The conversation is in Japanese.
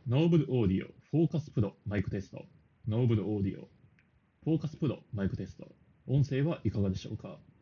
ノーブルオーディオ、フォーカスプロ、マイクテスト。ノーブルオーディオ、フォーカスプロ、マイクテスト。音声はいかがでしょうか？